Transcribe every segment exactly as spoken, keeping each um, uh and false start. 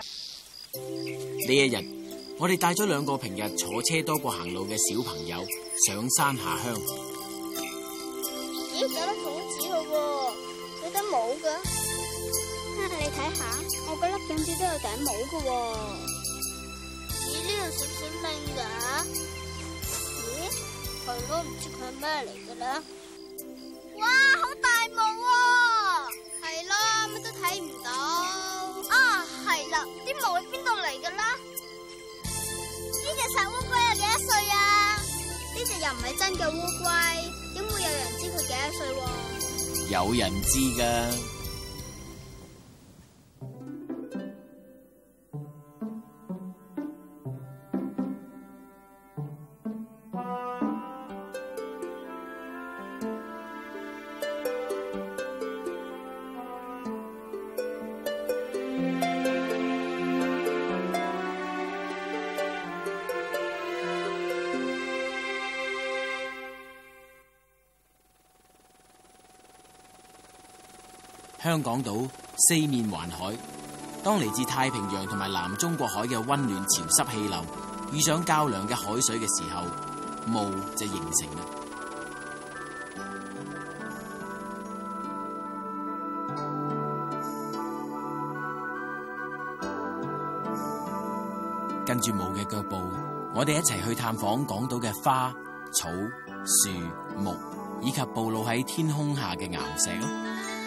呢一日，我哋帶咗兩個平日坐車多過行路嘅小朋友上山下鄉。 咦，有粒種子嘅喎，有頂帽嘅。哈，你睇下，我嗰粒種子都有頂帽嘅喎。咦，呢度閃閃令㗎？咦，係咯，唔知佢係咩嚟嘅咧？哇，好大霧喎！係咯，乜都睇唔到。啊，係啦，啲霧喺邊度嚟嘅啦？呢隻細烏龜有幾多歲啊？呢隻又唔係真嘅烏龜，點會有人知佢幾多歲喎？ 有人知㗎。香港島四面環海，當嚟自太平洋同埋南中國海嘅溫暖潮濕氣流遇上較涼嘅海水嘅時候，霧就形成啦。跟住霧嘅腳步，我哋一齊去探訪港島嘅花、草、樹、木，以及暴露喺天空下嘅岩石啦。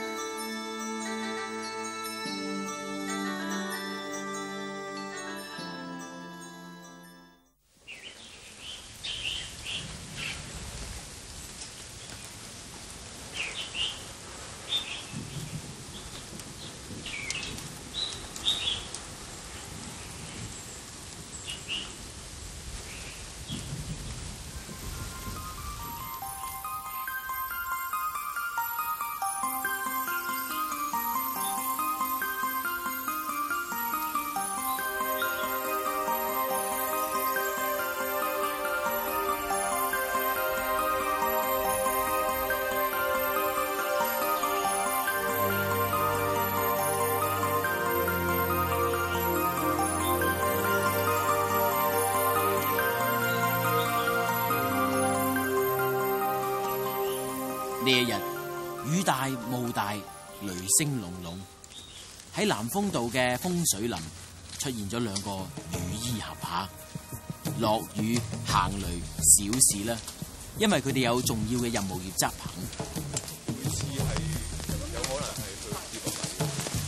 呢一日雨大霧大，雷聲隆隆，喺南風道嘅風水林出現咗兩個雨衣俠客。落雨行雷小事啦，因為佢哋有重要嘅任務要執行。 每次係有可能係去跌落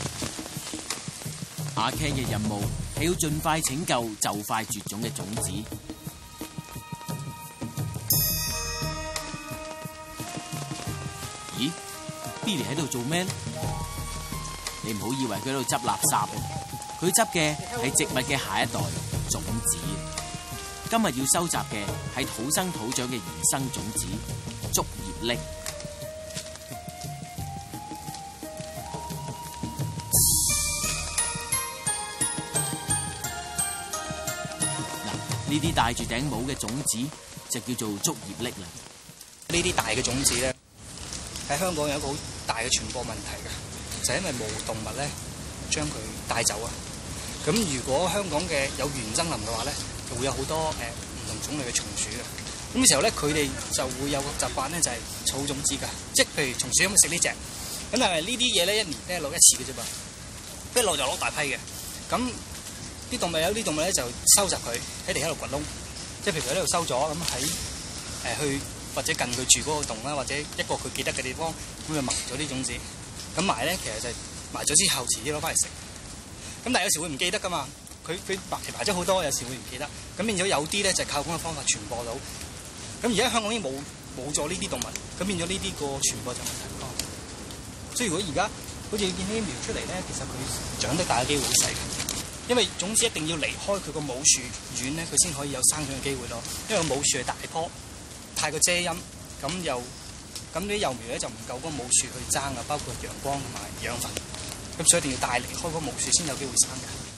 嚟。 阿 Ken 嘅任務係要盡快拯救就快絕種嘅種子。咦 ，Billy 喺度做咩？你唔好以為佢喺度執垃圾，佢執嘅係植物嘅下一代種子。今日要收集嘅係土生土長嘅原生種子竹葉櫟。嗱，呢啲戴住頂帽嘅種子就叫做竹葉櫟啦。 呢啲大嘅種子咧，喺香港有一個好大嘅傳播問題嘅，就係因為冇動物咧將佢帶走啊。咁如果香港嘅有原生林嘅話咧，就會有好多誒唔、呃、同種類嘅松鼠嘅。咁嘅時候咧，佢哋就會有個習慣咧，就係儲種子㗎。即係譬如松鼠咁食呢隻，咁但係呢啲嘢咧一年咧落一次嘅啫噃，一落就攞大批嘅。咁啲動物有啲動物咧就收集佢喺地喺度掘窿，即係譬如喺呢度收咗，咁喺誒去。或者近佢住嗰個洞啦，或者一個佢記得嘅地方，咁就埋咗啲種子。咁埋咧，其實就係埋咗之後，遲啲攞翻嚟食。咁但係有時會唔記得噶嘛？佢佢埋埋咗好多，有時會唔記得。咁變咗有啲咧就係靠咁嘅方法傳播到。咁而家香港已經冇冇咗呢啲動物，咁變咗呢啲個傳播就問題多。所以如果而家好似見呢啲苗出嚟咧，其實佢長得大嘅機會好細嘅，因為種子一定要離開佢個母樹遠咧，佢先可以有生長嘅機會咯。因為個母樹係大棵。太過遮陰，咁又咁啲幼苗咧就唔夠嗰個母樹去爭啊，包括陽光同埋養分，咁所以一定要帶離開嗰個母樹先有機會生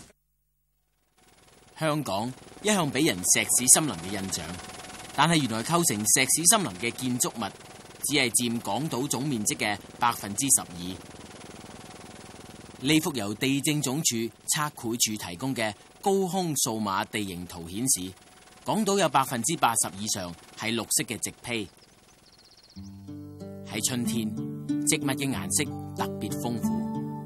嘅。 香港一向俾人石屎森林嘅印象，但係原來構成石屎森林嘅建築物，只係佔港島總面積嘅百分之十二。 呢幅由地政總署測繪處提供嘅高空數碼地形圖顯示，港島有百分之八十以上係綠色嘅植被。喺春天，植物嘅顏色特別豐富。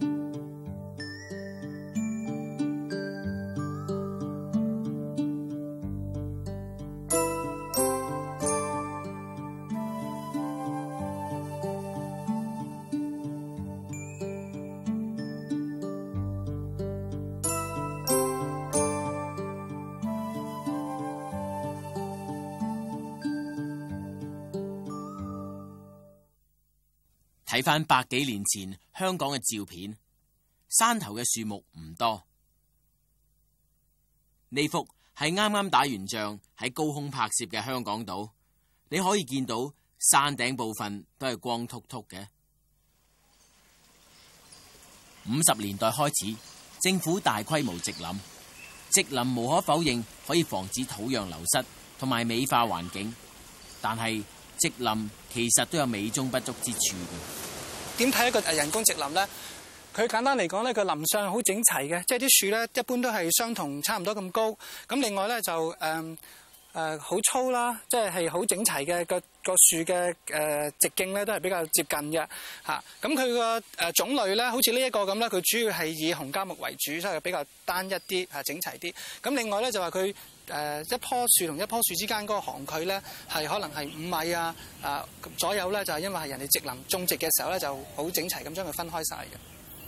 睇返百幾年前香港嘅照片，山頭嘅樹木唔多。呢幅係啱啱打完仗喺高空拍攝嘅香港島，你可以見到山頂部分都係光禿禿嘅。五十年代開始，政府大規模植林，植林無可否認可以防止土壤流失同埋美化環境，但係植林其實都有美中不足之處嘅。 點睇一個人工植林咧？佢簡單嚟講咧，個林相好整齊嘅，即係啲樹咧一般都係相同差唔多咁高。咁另外咧就誒誒好粗啦，即係係好整齊嘅，個個樹嘅誒直徑咧都係比較接近嘅嚇。咁佢個誒種類咧，好似呢一個咁咧，佢主要係以紅膠木為主，所以比較單一啲嚇，整齊啲。咁另外咧就話佢誒一棵樹同一棵樹之間嗰個行距咧係可能係五米啊啊左右咧，就係因為係人哋植林種植嘅時候咧就好整齊咁將佢分開晒嘅。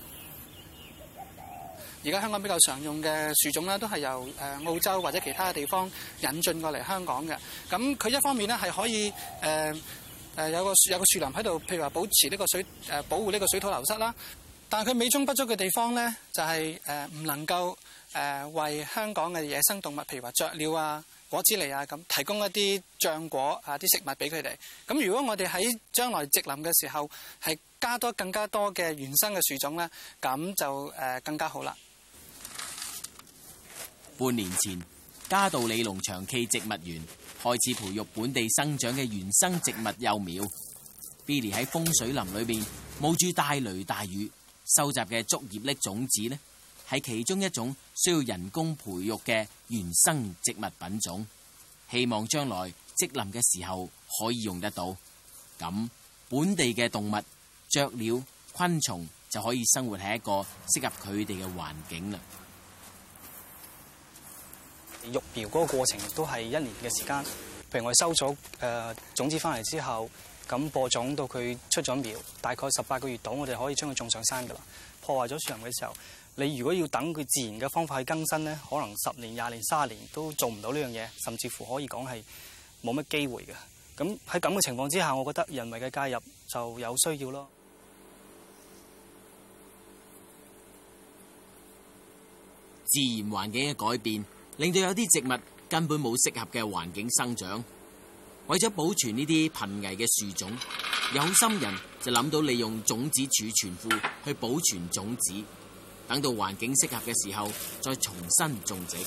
而家香港比較常用嘅樹種咧，都係由誒澳洲或者其他嘅地方引進過嚟香港嘅。咁佢一方面咧係可以誒誒、呃、有個有個樹林喺度，譬如話保持呢個水誒、呃、保護呢個水土流失啦。但係佢美中不足嘅地方咧，就係誒唔能夠誒、呃、為香港嘅野生動物，譬如話雀鳥啊、果子狸啊咁，提供一啲漿果啊啲食物俾佢哋。咁如果我哋喺將來植林嘅時候係加多更加多嘅原生嘅樹種咧，咁就誒、呃、更加好啦。 半年前，嘉道理農場暨植物園開始培育本地生長嘅原生植物幼苗。Billy 喺風水林裏邊冒住大雷大雨收集嘅竹葉礫種子呢，係其中一種需要人工培育嘅原生植物品種。希望將來植林嘅時候可以用得到，咁本地嘅動物、雀鳥、昆蟲就可以生活喺一個適合佢哋嘅環境啦。 育苗嗰個過程都係一年嘅時間，譬如我哋收咗誒、呃、種子翻嚟之後，咁播種到佢出咗苗，大概十八個月度，我哋可以將佢種上山噶啦。破壞咗樹林嘅時候，你如果要等佢自然嘅方法去更新咧，可能十年、廿年、卅年都做唔到呢樣嘢，甚至乎可以講係冇乜機會嘅。咁喺咁嘅情況之下，我覺得人為嘅介入就有需要咯。 自然環境嘅改變，令到有啲植物根本冇適合嘅環境生長。為咗保存呢啲瀕危嘅樹種，有心人就諗到利用種子儲存庫去保存種子，等到環境適合嘅時候再重新種植。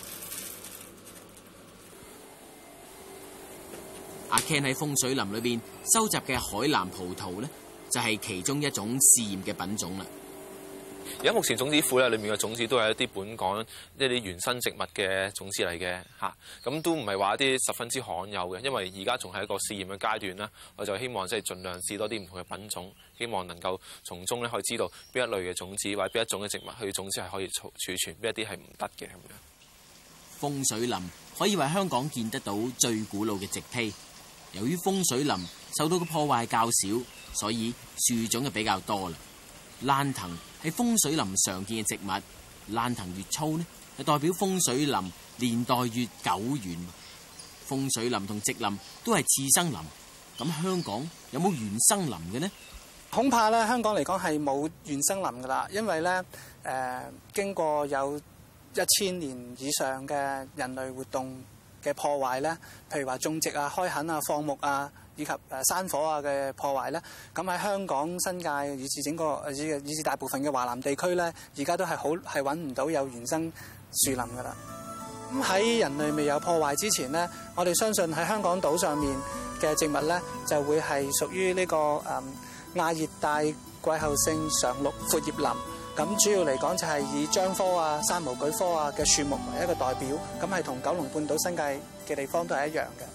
阿 Ken 喺風水林裏邊收集嘅海南葡萄呢，就係其中一種試驗嘅品種啦。 而家目前種子庫咧，裏面嘅種子都係一啲本港一啲原生植物嘅種子嚟嘅嚇，咁都唔係話一啲十分之罕有嘅，因為而家仲係一個試驗嘅階段啦。我就希望即係盡量試多啲唔同嘅品種，希望能夠從中咧可以知道邊一類嘅種子或者邊一種嘅植物佢種子係可以儲儲存，邊一啲係唔得嘅咁樣。 風水林可以話香港見得到最古老嘅植被。由於風水林受到嘅破壞較少，所以樹種就比較多啦。蘭藤係風水林常見嘅植物，蘭藤越粗呢，就代表風水林年代越久遠。風水林同植林都係次生林，咁香港有冇原生林嘅呢？ 恐怕咧，香港嚟講係冇原生林噶啦，因為咧誒、呃、經過有一千年以上嘅人類活動嘅破壞咧，譬如話種植啊、開墾啊、放牧啊，以及誒山火啊嘅破壞咧，咁喺香港新界以至整個以至以至大部分嘅華南地區咧，而家都係好係揾唔到有原生樹林噶啦。咁喺人類未有破壞之前咧，我哋相信喺香港島上面嘅植物咧，就會係屬於呢個誒亞熱帶季候性常綠闊葉林咁主要嚟講就係以樟科啊、山毛榉科啊嘅樹木為一個代表，咁係同九龍半島新界嘅地方都係一樣嘅。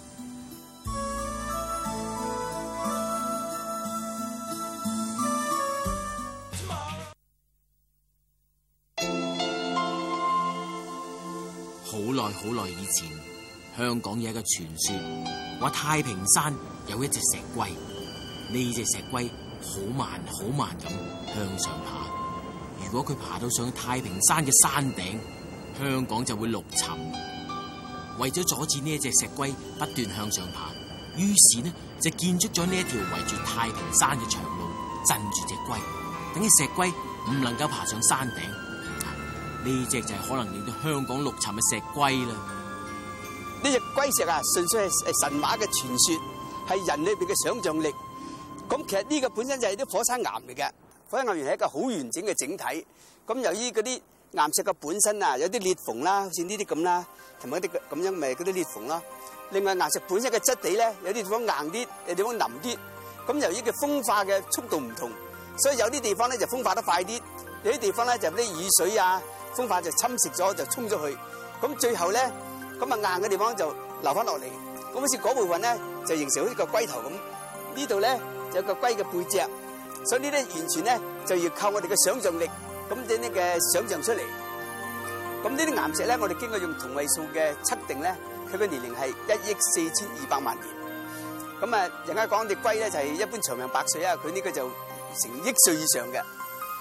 好耐好耐以前，香港有一個傳說，話太平山有一隻石龜，呢隻石龜好慢好慢咁向上爬。如果佢爬到上太平山嘅山頂，香港就會陸沉。為咗阻止呢一隻石龜不斷向上爬，於是呢就建築咗呢一條圍住太平山嘅長路，鎮住隻龜，等隻石龜唔能夠爬上山頂。呢隻就係可能令到香港陸沉嘅石龜啦。 呢隻龜石啊，純粹係神話嘅傳說，係人裏邊嘅想象力。咁其實呢個本身就係啲火山岩嚟嘅，火山岩原係一個好完整嘅整體。咁由於嗰啲岩石嘅本身啊，有啲裂縫啦，好似呢啲咁啦，同埋一啲咁樣咪嗰啲裂縫啦。另外岩石本身嘅質地咧，有啲地方硬啲，有啲地方腍啲。咁由於佢風化嘅速度唔同，所以有啲地方咧就風化得快啲，有啲地方咧就啲雨水啊。風化就侵蝕咗，就沖咗去，咁最後咧，咁啊硬嘅地方就留翻落嚟，咁好似嗰部分咧就形成好似個龜頭咁，呢度咧就有個龜嘅背脊，所以呢啲完全咧就要靠我哋嘅想像力，咁啲呢嘅想像出嚟。咁呢啲岩石咧，我哋經過用同位素嘅測定咧，佢嘅年齡係一億四千二百萬年。咁啊，人家講隻龜咧就係一般長命百歲啊，佢呢個就成億歲以上嘅。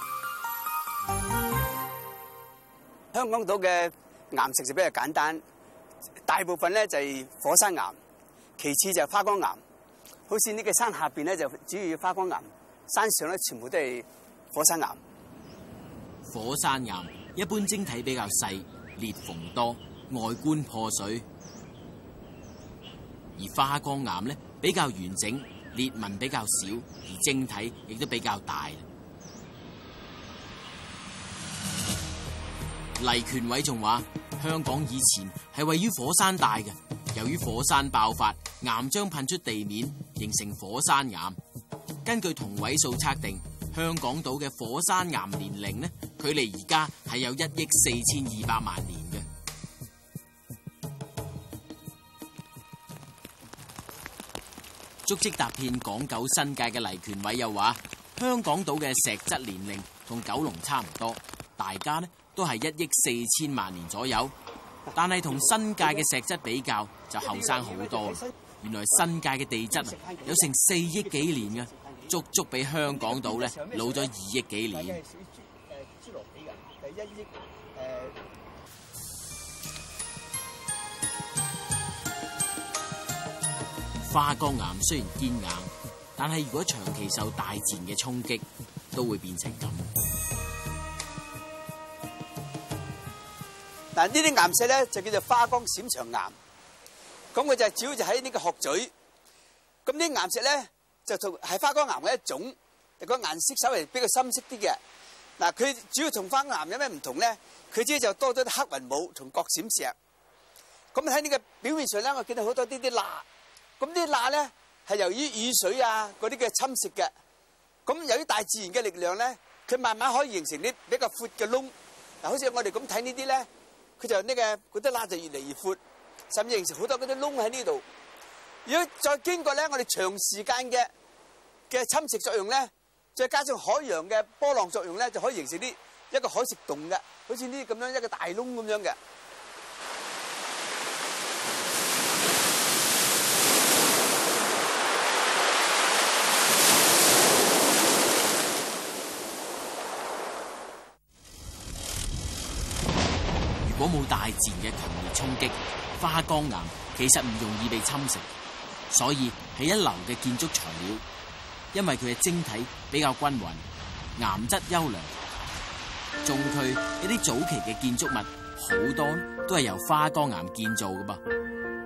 香港島嘅岩石就比較簡單，大部分咧就係火山岩，其次就係花崗岩。好似呢個山下邊咧就主要花崗岩，山上咧全部都係火山岩。 火山岩一般晶體比較細，裂縫多，外觀破碎；而花崗岩咧比較完整，裂紋比較少，而晶體亦都比較大。黎權偉仲話：香港以前係位於火山帶嘅，由於火山爆發，岩漿噴出地面，形成火山岩。根據同位素測定，香港島嘅火山岩年齡呢，距離而家係有一億四千二百萬年嘅。足跡踏遍港九新界嘅黎權偉又話：香港島嘅石質年齡同九龍差唔多，大家呢都係一億四千萬年左右，但係同新界嘅石質比較就後生好多。原來新界嘅地質啊有成四億幾年嘅，足足比香港島咧老咗二億幾年。花崗岩雖然堅硬，但係如果長期受大自然嘅衝擊，都會變成咁。 嗱，呢啲岩石咧就叫做花崗閃長岩，咁佢就主要就喺呢個鶴咀。咁呢啲岩石咧就同係花崗岩嘅一種，個顏色稍微比較深色啲嘅。嗱，佢主要同花崗岩有咩唔同咧？佢只就多咗啲黑雲母同角閃石。咁喺呢個表面上咧，我見到好多啲啲罅。咁呢啲罅咧係由於雨水啊嗰啲嘅侵蝕嘅。咁由於大自然嘅力量咧，佢慢慢可以形成啲比較闊嘅窿。嗱，好似我哋咁睇呢啲咧。佢就呢個嗰啲罅就越嚟越闊，甚至形成好多嗰啲窿喺呢度。如果再經過咧，我哋長時間嘅嘅侵蝕作用咧，再加上海洋嘅波浪作用咧，就可以形成啲一個海蝕洞嘅，好似呢啲咁樣一個大窿咁樣嘅。 如果冇大自然嘅強烈衝擊，花崗岩其實唔容易被侵蝕，所以係一流嘅建築材料。因為佢嘅晶體比較均勻，岩質優良。中區一啲早期嘅建築物好多都係由花崗岩建造㗎噃。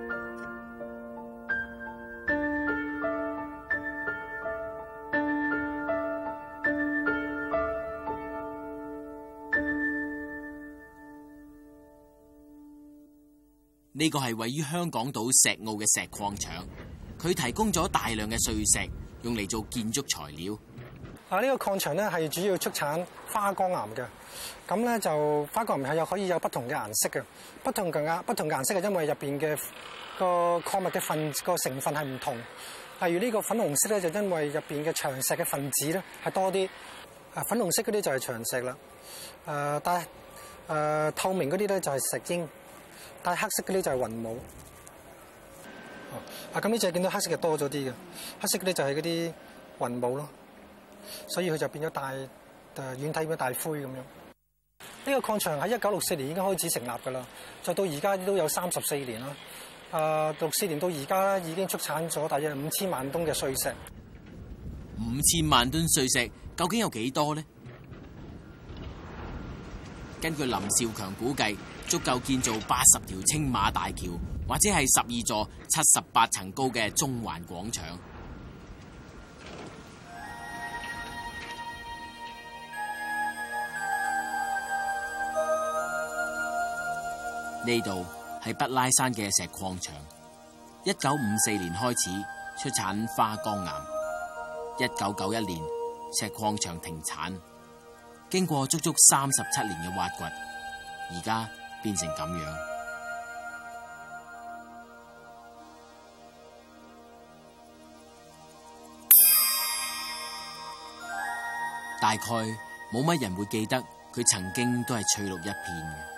呢個係位於香港島石澳嘅石礦場，佢提供咗大量嘅碎石，用嚟做建築材料。 啊，呢個礦場咧係主要出產花崗岩嘅。咁咧就花崗岩係有可以有不同嘅顏色嘅，不同嘅顏不同嘅顏色係因為入邊嘅個礦物嘅分個成分係唔同。例如呢個粉紅色咧，就因為入邊嘅長石嘅分子咧係多啲。啊，粉紅色嗰啲就係長石啦。誒，但係誒透明嗰啲咧就係石英，但係黑色嗰啲就係雲母。啊，咁呢隻見到黑色嘅多咗啲嘅，黑色嗰啲就係嗰啲雲母咯。所以佢就變咗大誒遠睇變咗大灰咁樣。呢個礦場喺一九六四年已經開始成立㗎啦，就到而家都有三十四年啦。誒六四年到而家已經出產咗大約五千萬噸嘅碎石。 五千萬噸碎石究竟有幾多呢？根據林兆強估計，足夠建造八十條青馬大橋，或者係十二座七十八層高嘅中環廣場。呢度係畢拉山嘅石礦場，一九五四年開始出產花崗岩，一九九一年石礦場停產，經過足足三十七年嘅挖掘，而家變成咁樣。大概冇乜人會記得佢曾經都係翠綠一片嘅。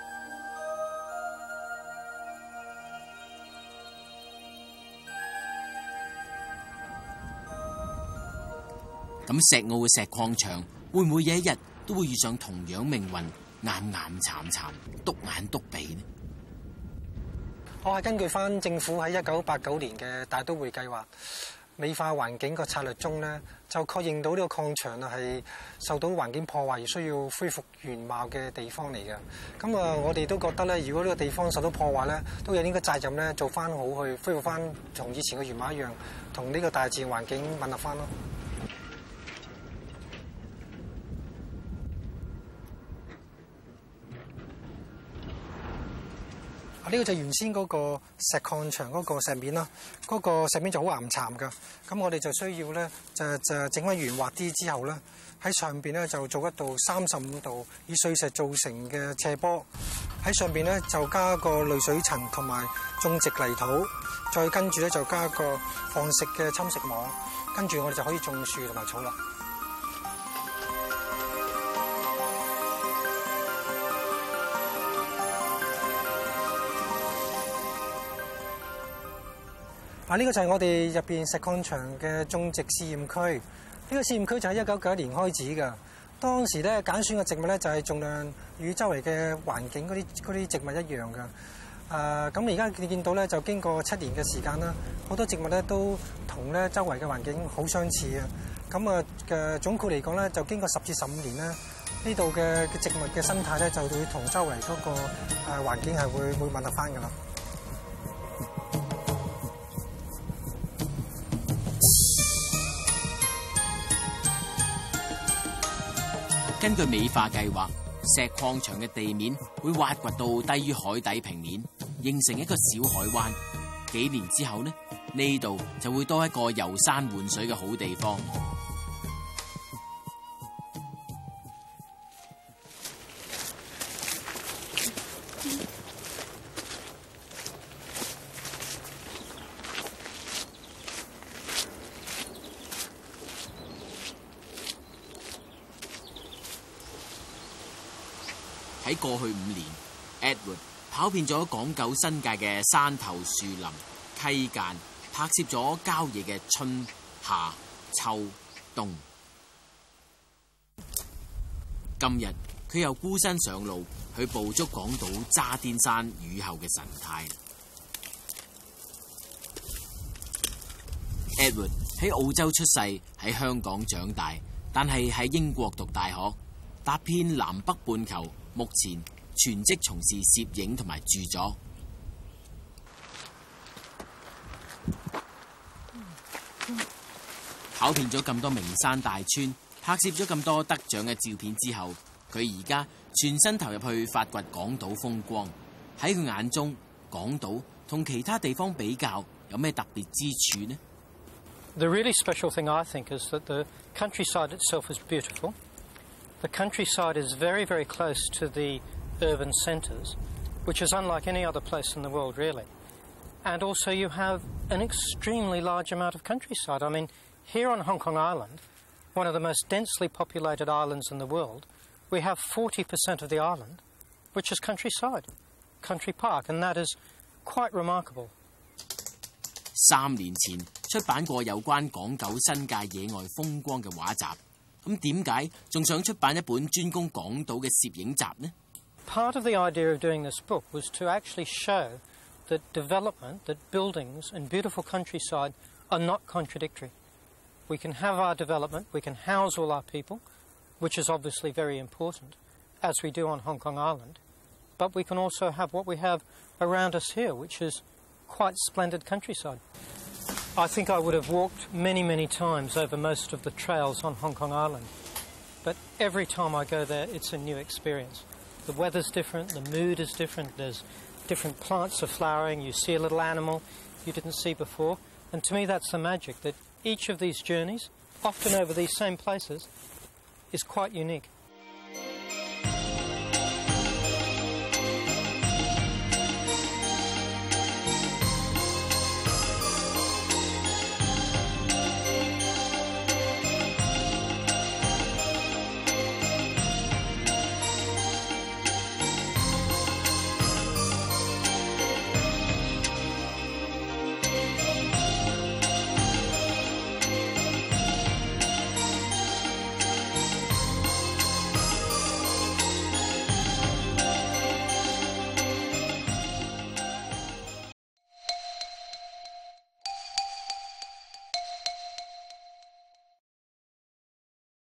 咁石澳嘅石礦場會唔會有一日都會遇上同樣命運，岩岩慘慘，篤眼篤鼻呢？ 我係根據翻政府喺一九八九年嘅大都會計劃美化環境個策略中咧，就確認到呢個礦場啊係受到環境破壞而需要恢復原貌嘅地方嚟嘅。咁啊，我哋都覺得咧，如果呢個地方受到破壞咧，都有應該責任咧做翻好去恢復翻同以前嘅原貌一樣，同呢個大自然環境吻合翻咯。呢個就係原先嗰個石礦場嗰個石面啦，嗰、嗰個石面就好岩巉㗎。咁我哋就需要咧，就就整翻圓滑啲之後咧，喺上邊咧就做一道三十五度以碎石造成嘅斜坡，喺上邊咧就加個濾水層同埋種植泥土，再跟住咧就加個放食嘅侵蝕網，跟住我哋就可以種樹同埋草啦。啊！呢個就係我哋入邊石礦場嘅種植試驗區。呢個試驗區就喺一九九一年開始㗎。當時咧揀選嘅植物咧就係盡量與周圍嘅環境嗰啲嗰啲植物一樣㗎。誒咁而家你見到咧，就經過七年嘅時間啦，好多植物咧都同咧周圍嘅環境好相似啊。咁啊嘅總括嚟講咧，就經過十至十五年咧，呢度嘅植物嘅生態咧就會同周圍嗰個誒環境係會會吻合翻㗎啦。 根據美化計劃，石礦場嘅地面會挖掘到低於海底平面，形成一個小海灣。幾年之後呢，呢度就會多一個遊山玩水嘅好地方。喺過去五年 ，Edward 跑遍咗港九新界嘅山頭樹林、溪澗，拍攝咗郊野嘅春夏秋冬。今日佢又孤身上路去捕捉港島渣甸山雨後嘅神態。Edward 喺澳洲出世，喺香港長大，但係喺英國讀大學，踏遍南北半球。目前全職從事攝影同埋著作。跑遍咗咁多名山大川，拍攝咗咁多得獎嘅照片之後，佢而家全身投入去發掘港島風光。喺佢眼中，港島同其他地方比較有咩特別之處呢？ The really special thing, I think, is that the countryside itself is beautiful. The countryside is very, very close to the urban centres, which is unlike any other place in the world, really. And also you have an extremely large amount of countryside. I mean, here on Hong Kong Island, one of the most densely populated islands in the world, we have forty percent of the island, which is countryside, country park, and that is quite remarkable. 三年前出版過有關港九新界野外風光嘅畫集，咁點解仲想出版一本專攻港島嘅攝影集呢？ Part of the idea of doing this book was to actually show that development, that buildings and beautiful countryside are not contradictory. We can have our development, we can house all our people, which is obviously very important, as we do on Hong Kong Island, but we can also have what we have around us here, which is quite splendid countryside. I think I would have walked many, many times over most of the trails on Hong Kong Island, but every time I go there, it's a new experience. The weather's different, the mood is different, there's different plants are flowering, you see a little animal you didn't see before, and to me that's the magic, that each of these journeys, often over these same places, is quite unique.